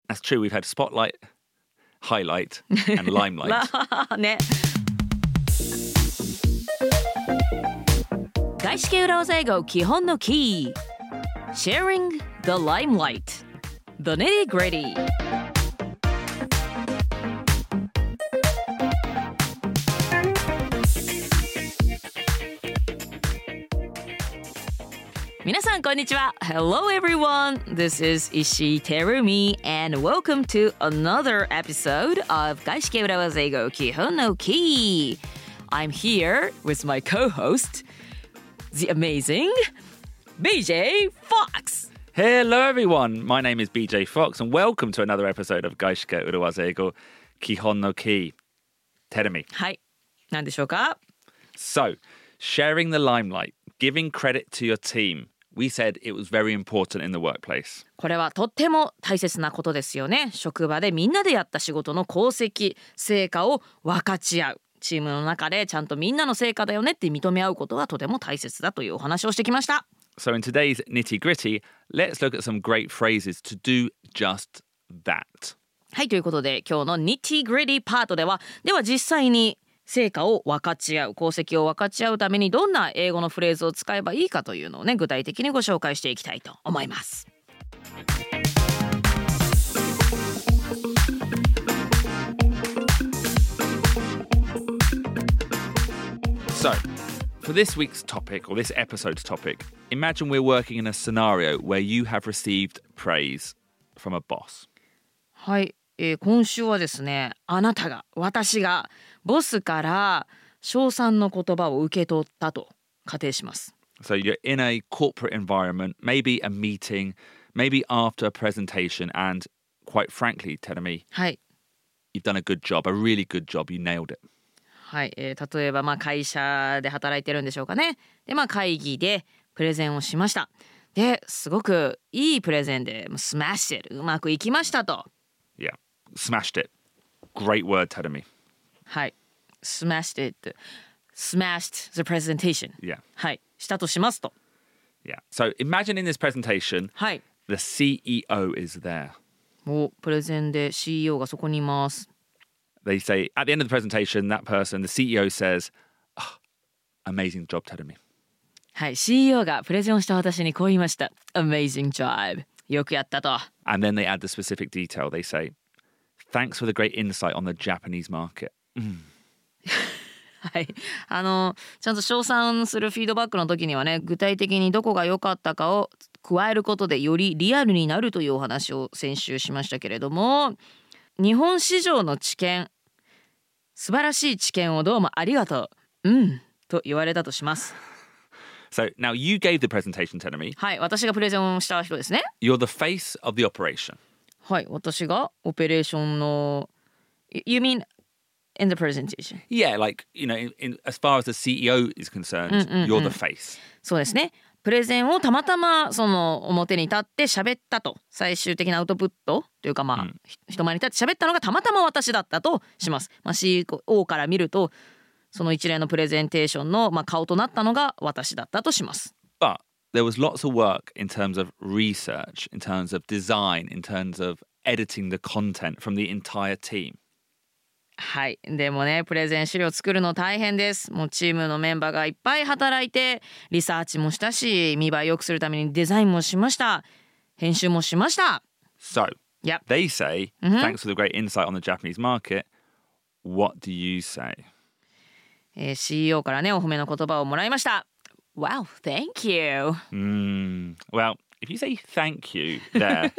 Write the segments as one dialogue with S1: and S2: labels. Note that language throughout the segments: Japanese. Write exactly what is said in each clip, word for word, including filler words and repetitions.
S1: That's true. We've had spotlight, highlight, and limelight.
S2: ね。外資系裏技英語基本のキー Sharing the limelight The nitty gritty 皆さんこんにちは Hello everyone This is Ishii Terumi And welcome to another episode of 外資系裏技英語基本のキー I'm here with my co-host The amazing B J Fox.
S1: Hello, everyone. My name is B J Fox, and welcome to another episode of 外資系裏技英語基本のキー Terumi.
S2: はい。何でしょうか
S1: So, sharing the limelight, giving credit to your team. We said it was very important in the workplace.
S2: これはとっても大切なことですよね。職場でみんなでやった仕事の功績、成果を分かち合う。チームの中でちゃんとみんなの成果だよねって認め合うことはとても大切だというお話をしてきました。
S1: So in today's nitty-gritty, let's look at some great phrases to do just that.
S2: はい、ということで今日の nitty-gritty パートでは、では実際に成果を分かち合う、功績を分かち合うためにどんな英語のフレーズを使えばいいかというのをね、具体的にご紹介していきたいと思います。
S1: So, for this week's topic, or this episode's topic, imagine we're working in a scenario where you have received praise from a boss.
S2: はい、えー、今週はですね、あなたが、私が、ボスから称賛の言葉を受け取ったと仮定します。
S1: So you're in a corporate environment, maybe a meeting, maybe after a presentation, and quite frankly, Terumi,
S2: はい。
S1: you've done a good job, a really good job, you nailed it.
S2: はい、えー、例えばまあ会社で働いてるんでしょうかね。でまあ会議でプレゼンをしました。ですごくいいプレゼンでスマッシュうまくいきましたと。
S1: Yeah, smashed it. Great word, Terumi.
S2: はい、smashed it, smashed the presentation.
S1: Yeah.
S2: はい、したとしますと。
S1: Yeah. So imagine in this presentation,
S2: はい。
S1: the C E O is there.
S2: お、プレゼンで シーイーオー がそこにいます。
S1: They say, at the end of the presentation, that person, the C E O says, oh, amazing job, Terumi.
S2: はい、シーイーオー がプレゼンをした私にこう言いました。Amazing job. よくやったと。
S1: And then they add the specific detail. They say, thanks for the great insight on the Japanese market.
S2: はい、あのちゃんと称賛するフィードバックの時にはね、具体的にどこが良かったかを加えることでよりリアルになるというお話を先週しましたけれども、日本市場の知見、素晴らしい知見をどうもありがとう、うんと言われたとします。
S1: So now you gave the presentation, Terumi.
S2: はい、私がプレゼンをした人ですね。
S1: You're the face of the operation.
S2: はい、私がオペレーションの You mean in the presentation?
S1: Yeah, like, you know, in, in, as far as the C E O is concerned, you're the face.
S2: そうですね。プレゼンをたまたまその表に立って喋ったと、最終的なアウトプットというかまあ、うん、人前に立って喋ったのがたまたま私だったとします。まあ、シーイーオー から見るとその一連のプレゼンテーションのまあ顔となったのが私だったとします。
S1: But there was lots of work in terms of research, in terms of design, in terms of editing the content from the entire team.
S2: はい、でもね、プレゼン資料作るの大変です。もうチームのメンバーがいっぱい働いて、リサーチもしたし、見栄え良くするためにデザインもしました。編集もしました。
S1: So,
S2: yep.
S1: they say, thanks for the great insight on the Japanese market. What do you say?
S2: えー、シーイーオー からね、お褒めの言葉をもらいました。Wow, thank you.
S1: Mm, well, if you say thank you there,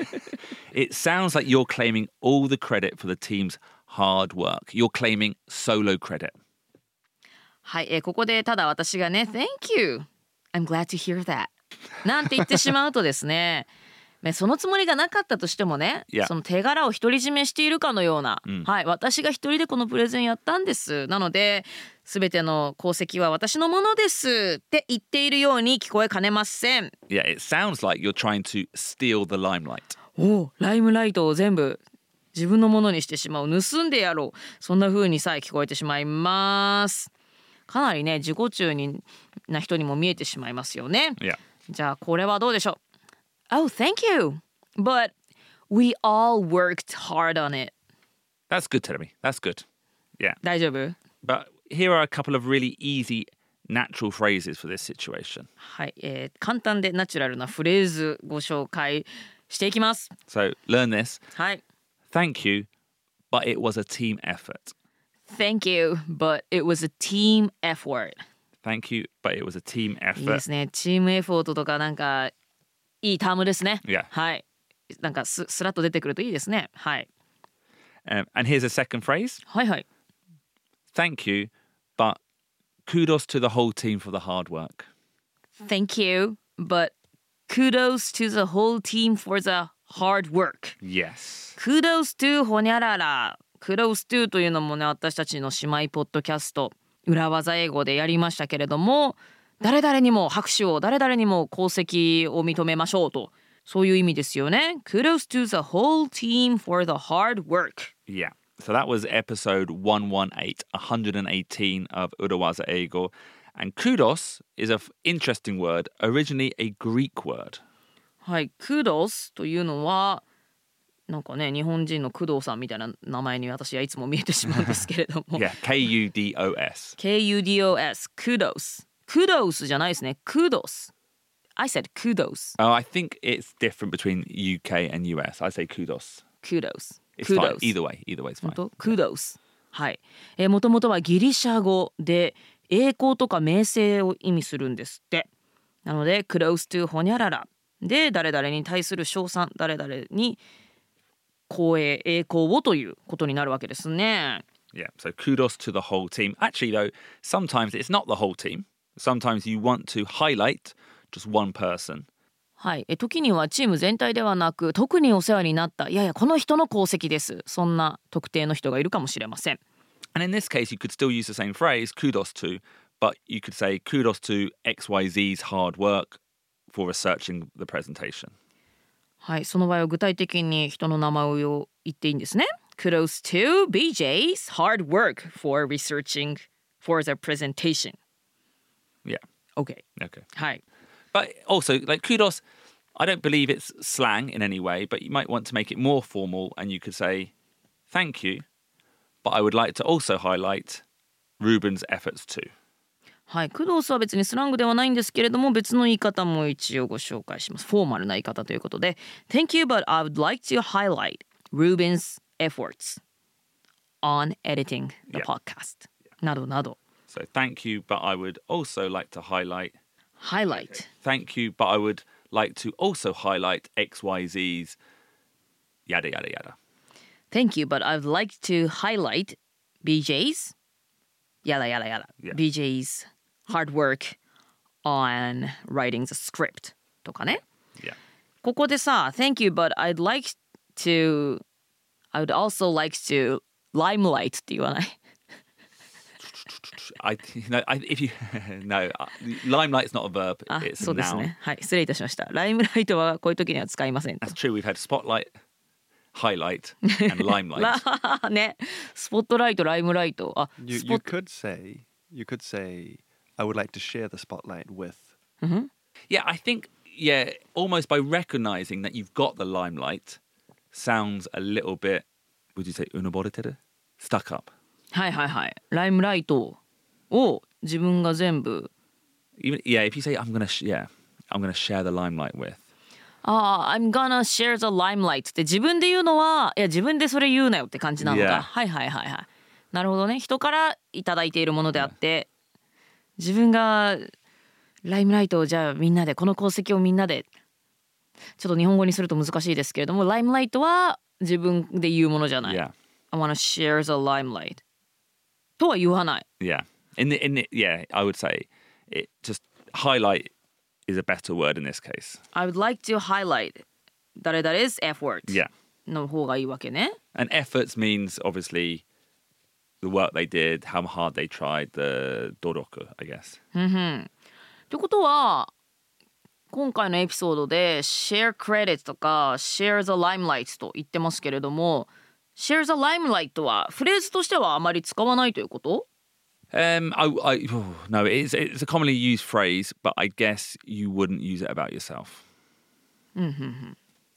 S1: it sounds like you're claiming all the credit for the team's hard work. You're claiming solo credit.
S2: はい、えー、ここでただ私がね Thank you I'm glad to hear that なんて言ってしまうとですねそのつもりがなかったとしてもね、
S1: yeah.
S2: その手柄を独り占めしているかのような、
S1: うん、
S2: はい、私が一人でこのプレゼンやったんです。なので全ての功績は私のものですって言っているように聞こえかねません。
S1: Yeah, it sounds like you're trying to steal the limelight.
S2: お、ライムライトを全部自分のものにしてしまう、盗んでやろう、そんな風にさえ聞こえてしまいます。かなりね自己中にな人にも見えてしまいますよね。
S1: Yeah.
S2: じゃあこれはどうでしょう。 Oh, thank you. But We all worked hard on it.
S1: That's good, Teremi. That's good. Yeah.
S2: 大丈夫？
S1: But here are a couple of really easy natural phrases for this situation.
S2: はい、えー、簡単でナチュラルなフレーズご紹介していきます。
S1: So learn this.
S2: はい。
S1: Thank you, but it was a team effort.
S2: Thank you, but it was a team effort.
S1: Thank you, but it was a team
S2: いいで
S1: effort.
S2: すね。チームエフォートとかなんかいいタームですね。
S1: Yeah.
S2: はい。なんかススラッと出てくるといいですね。はい。
S1: Um, and here's a second phrase.
S2: はいはい。
S1: Thank you, but kudos to the whole team for the hard work.
S2: Thank you, but kudos to the whole team for the hard work.
S1: Yes.
S2: Kudos to ほにゃらら。Kudos to というのもね、私たちの姉妹ポッドキャスト裏技英語でやりましたけれども、誰々にも拍手を、誰々にも功績を認めましょうと、そういう意味ですよね。Kudos to the whole team for the hard work.
S1: Yeah. So that was episode one eighteen, one eighteen of Urawaza Eigo. And kudos is an interesting word, originally a Greek word.
S2: はい、Kudos というのはなんかね、日本人の工藤さんみたいな名前に私はいつも見えてしまうんですけれども。
S1: Yeah, K U D O S.
S2: K U D O S, kudos. Kudos じゃないですね。Kudos. I said kudos.
S1: Oh, I think it's different between U K and U S. I say kudos.
S2: Kudos.
S1: It's
S2: kudos.
S1: fine. Either way. Either way is fine.
S2: 本当 Kudos. はい。えー、もともとはギリシャ語で栄光とか名声を意味するんですって。なので kudos to ほにゃららで誰々に対する称賛、誰々に光栄、栄光をということになるわけですね。
S1: Yeah, so kudos to the whole team. Actually, though, sometimes it's not the whole team. Sometimes you want to highlight just one person.
S2: はい、え時にはチーム全体ではなく、特にお世話になった、いやいやこの人の功績です。そんな特定の人がいるかもしれません。
S1: And in this case, you could still use the same phrase, kudos to, but you could say kudos to X Y Z's hard work for researching the presentation.
S2: はい、その場合は具体的に人の名前を言っていいんですね。Kudos to B J's hard work for researching for the presentation.
S1: Yeah.
S2: Okay.
S1: Okay.
S2: はい。
S1: But also, like kudos, I don't believe it's slang in any way, but you might want to make it more formal and you could say, thank you, but I would like to also highlight Ruben's efforts too.
S2: はい、クドースは別にスラングではないんですけれども、別の言い方も一応ご紹介します。フォーマルな言い方ということで Thank you, but I would like to highlight Ruben's efforts on editing the
S1: Yeah.
S2: podcast、yeah. などなど
S1: So thank you, but I would also like to highlight
S2: Highlight
S1: Thank you, but I would like to also highlight X Y Z's yada yada yada.
S2: Thank you, but I would like to highlight B J's yada yada yada、
S1: yeah.
S2: B J's hard work on writing the script とかね、
S1: Yeah.
S2: ここでさ Thank you, but I'd like to I would also like to limelight って言わない
S1: I, you know, I, if you no, limelight's not a verb.
S2: あ、
S1: It's
S2: そ
S1: a
S2: うですね。
S1: noun.
S2: はい、失礼いたしました。ライムライトはこういう時には使いませんと。
S1: That's true. We've had spotlight, highlight, and limelight.
S2: らね、スポットライト、ライムライト。あ、
S3: You
S2: スポ
S3: you
S2: ット。
S3: could say you could say I would like to share the spotlight with.
S1: Yeah, I think yeah, almost by recognizing that you've got the limelight, sounds a little bit. Would you say unoboriteru? Stuck up.
S2: はいはいはい。ライムライトを自分が全部。
S1: Even yeah, if you say I'm gonna sh- yeah, I'm gonna share the limelight with.
S2: ああ、I'm gonna share the limelight って自分で言うのは、いや自分でそれ言うなよって感じなのか。
S1: Yeah.
S2: はいはいはいはい。なるほどね。人からいただいているものであって、自分がライムライトをじゃあみんなでこの功績をみんなでちょっと日本語にすると難しいですけれども、ライムライトは自分で言うものじゃない。
S1: Yeah.
S2: I wanna share the limelight とは言わない。
S1: Yeah. In the in the yeah, I would say it just highlight is a better word in this case.
S2: I would like to highlight 誰々 is effort
S1: Yeah.
S2: の方がいいわけね。
S1: And efforts means obviously the work they did, how hard they tried, the doroku, I guess.
S2: ということは今回のエピソードで share credit とか share the limelight と言ってますけれども share the limelight はフレーズとしてはあまり使わないということ？
S1: Um, I, I oh, no, it's it's a commonly used phrase, but I guess you wouldn't use it about yourself.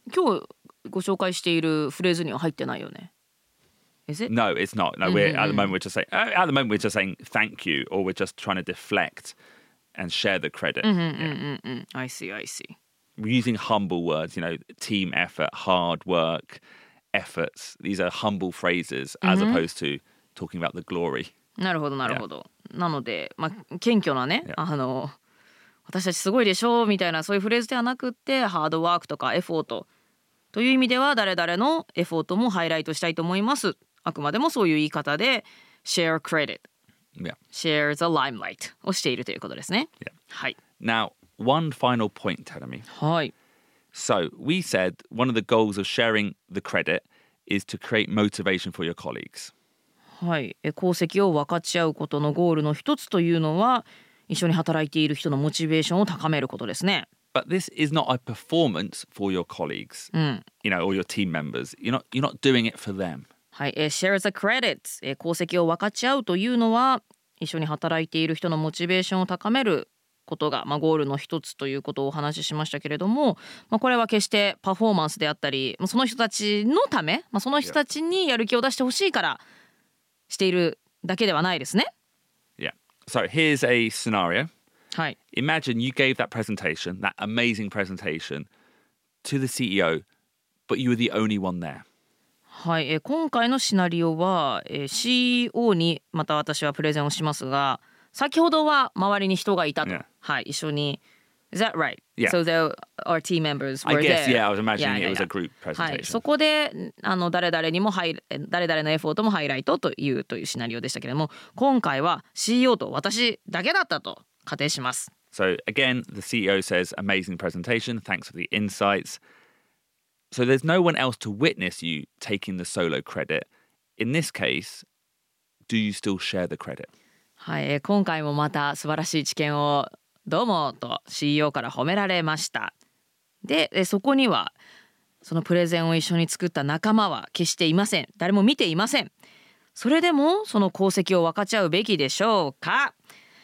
S2: 今日ご紹介しているフレーズには入ってないよね。Is it?
S1: No, it's not. No, we're at the moment we're just saying uh, at the moment we're just saying thank you, or we're just trying to deflect and share the credit.
S2: Mm-hmm. I see, I see.
S1: We're using humble words, you know, team effort, hard work, efforts. These are humble phrases as opposed to talking about the glory.
S2: なるほどなるほど。なので、まあ、謙虚なね、あの私たちすごいでしょみたいなそういうフレーズではなくってハードワークとかエフォートという意味では誰々のエフォートもハイライトしたいと思います。あくまでもそういう言い方で share credit,
S1: Yeah.
S2: share the limelight をしているということですね。
S1: Yeah.
S2: はい。
S1: Now, one final point, Tadami.
S2: はい。
S1: So we said one of the goals of sharing the credit is to create motivation for your colleagues.
S2: はい。え功績を分かち合うことのゴールの一つというのは一緒に働いている人のモチベーションを高めることですね。
S1: But this is not a performance for your colleagues, you know, or your team members. You're not, you're not doing it for them.
S2: はい、えー、share the credit、えー、功績を分かち合うというのは一緒に働いている人のモチベーションを高めることが、まあ、ゴールの一つということをお話ししましたけれども、まあ、これは決してパフォーマンスであったりその人たちのため、まあ、その人たちにやる気を出してほしいからしているだけではないですね。
S1: Yeah. So here's a scenario.
S2: はい。
S1: Imagine you gave that presentation, that amazing presentation, to the C E O, but you were the only one there.
S2: はい、えー、今回のシナリオは、えー、シーイーオー にまた私はプレゼンをしますが先ほどは周りに人がいたと、
S1: Yeah.
S2: はい、一緒に Is that right?
S1: Yeah.
S2: So there, our team members were
S1: I guess,
S2: there.
S1: yeah, I was imagining
S2: Yeah, yeah,
S1: it was a
S2: yeah.
S1: group
S2: はい、
S1: presentation.
S2: そこであの誰々にもハイ誰々のエフォートもハイライトというというシナリオでしたけれども今回は シーイーオー と私だけだったと仮定します。
S1: So again, the C E O says, amazing presentation, thanks for the insights. So there's no one else to witness you taking the solo credit. In this case, do you still share the credit?
S2: はい、えー今回もまた素晴らしい知見をどうもと シーイーオー から褒められました。で、えーそこにはそのプレゼンを一緒に作った仲間は決していません。誰も見ていません。それでもその功績を分かち合うべきでしょうか？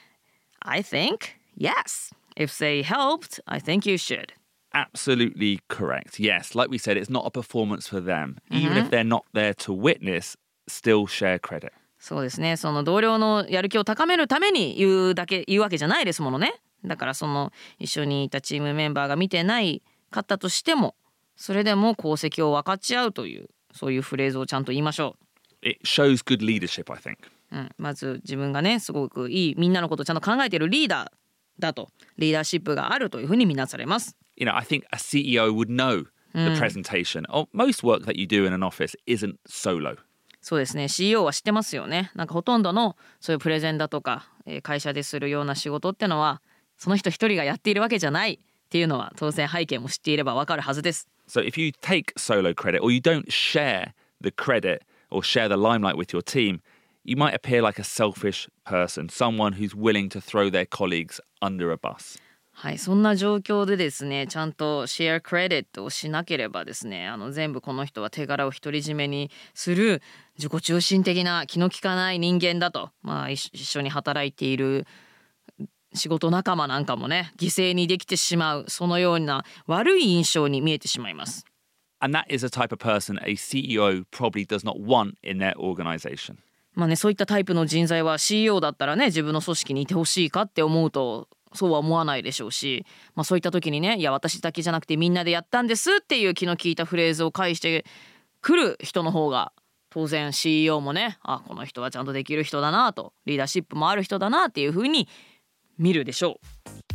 S2: I think yes. If they helped, I think you should.
S1: Absolutely correct. Yes, like we said, it's not a performance for them. Even if they're not there to witness, still share credit.
S2: そうですね。その同僚のやる気を高めるために言うだけ言うわけじゃないですものね。だからその一緒にいたチームメンバーが見てないかったとしても、それでも功績を分かち合うというそういうフレーズをちゃんと言いましょ
S1: It shows good leadership, I think.
S2: う。うん、まず自分がねすごくいいみんなのことをちゃんと考えているリーダーだとリーダーシップがあるというふうに見なされます。
S1: You know, I think a C E O would know the presentation. Oh, most work that you do in an office isn't solo.
S2: そうですね シーイーオー は知ってますよね。なんかほとんどのそういうプレゼンだとか、えー会社でするような仕事ってのはその人一人がやっているわけじゃないっていうのは当然背景も知っていればわかるはずです。
S1: So if you take solo credit or you don't share the credit or share the limelight with your team, you might appear like a selfish person, someone who's willing to throw their colleagues under a bus.
S2: はい、そんな状況でですねちゃんとシェアクレディットをしなければですねあの全部この人は手柄を独り占めにする自己中心的な気の利かない人間だと、まあ、一一緒に働いている仕事仲間なんかもね犠牲にできてしまうそのような悪い印象に見えてしまいます。
S1: And that is a type of person a C E O probably does not want in their organization.
S2: まあねそういったタイプの人材は シーイーオー だったらね自分の組織にいてほしいかって思うとそうは思わないでしょうし、まあ、そういった時にねいや私だけじゃなくてみんなでやったんですっていう気の利いたフレーズを返してくる人の方が当然 シーイーオー もねあこの人はちゃんとできる人だなとリーダーシップもある人だなっていう風に見るでしょう。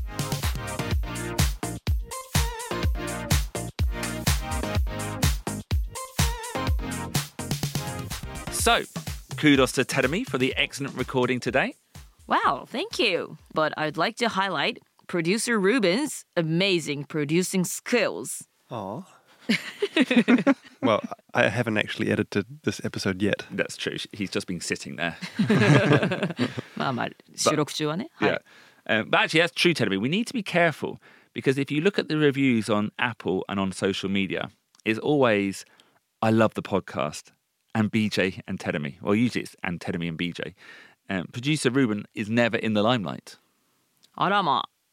S1: So, kudos to Tedemi for the excellent recording today.
S2: Wow, thank you. But I'd like to highlight producer Ruben's amazing producing skills.
S3: Oh. Well, I haven't actually edited this episode yet.
S1: That's true. He's just been sitting there.
S2: まあまあ収録中はね。はい
S1: Yeah. Um, but actually, that's true, Tedemi. We need to be careful because if you look at the reviews on Apple and on social media, it's always, I love the podcast, and B J and Tedemi. Well, usually it's and Tedemi and B J. Um, producer Ruben is never in the limelight.
S2: あらまあ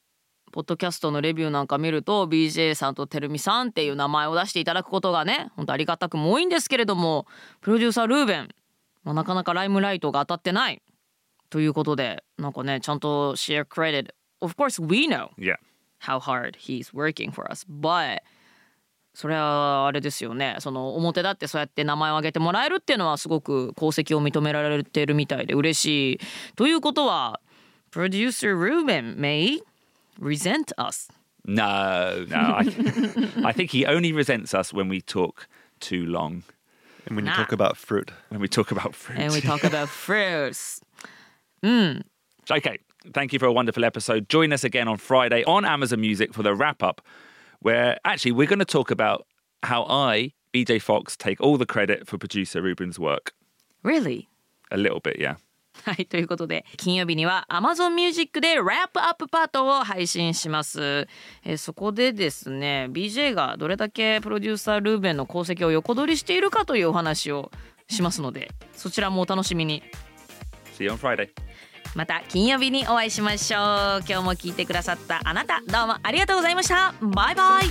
S2: ポッドキャストのレビューなんか見ると ビージェー さんとてるみさんっていう名前を出していただくことがね本当ありがたくも多いんですけれども、プロデューサールーベン、まあ、なかなかライムライトが当たってないということで、なんかねちゃんと share credit. Of course we know
S1: Yeah.
S2: how hard he's working for us, but それはあれですよね、その表だってそうやって名前を挙げてもらえるっていうのはすごく功績を認められてるみたいで嬉しいということは、プロデューサールーベン may resent us.
S1: No, no. I, I think he only resents us when we talk too long.
S3: And when you
S2: Nah.
S3: talk about fruit.
S1: When we talk about fruit.
S2: And we talk about fruits. うん。
S1: Okay, thank you for a wonderful episode. Join us again on Friday on Amazon Music for the wrap-up, where actually we're going to talk about how I, B J Fox, take all the credit for producer Ruben's work.
S2: Really?
S1: A little bit, yeah.
S2: はい、ということで金曜日には Amazon Music でラップアップパートを配信します。えー、そこでですね ビージェー がどれだけプロデューサールーベンの功績を横取りしているかというお話をしますので、そちらもお楽しみに。
S1: See you on Friday.
S2: また金曜日にお会いしましょう。今日も聞いてくださったあなた、どうもありがとうございました。バイバイ。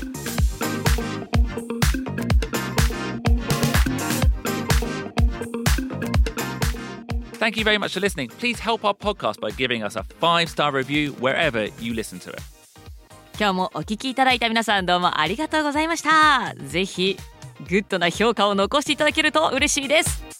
S1: Thank you very much for listening. Please help our podcast by giving us a five-star review wherever you listen to it.
S2: 今日もお聞きいただいた皆さんどうもありがとうございました。ぜひグッドな評価を残していただけると嬉しいです。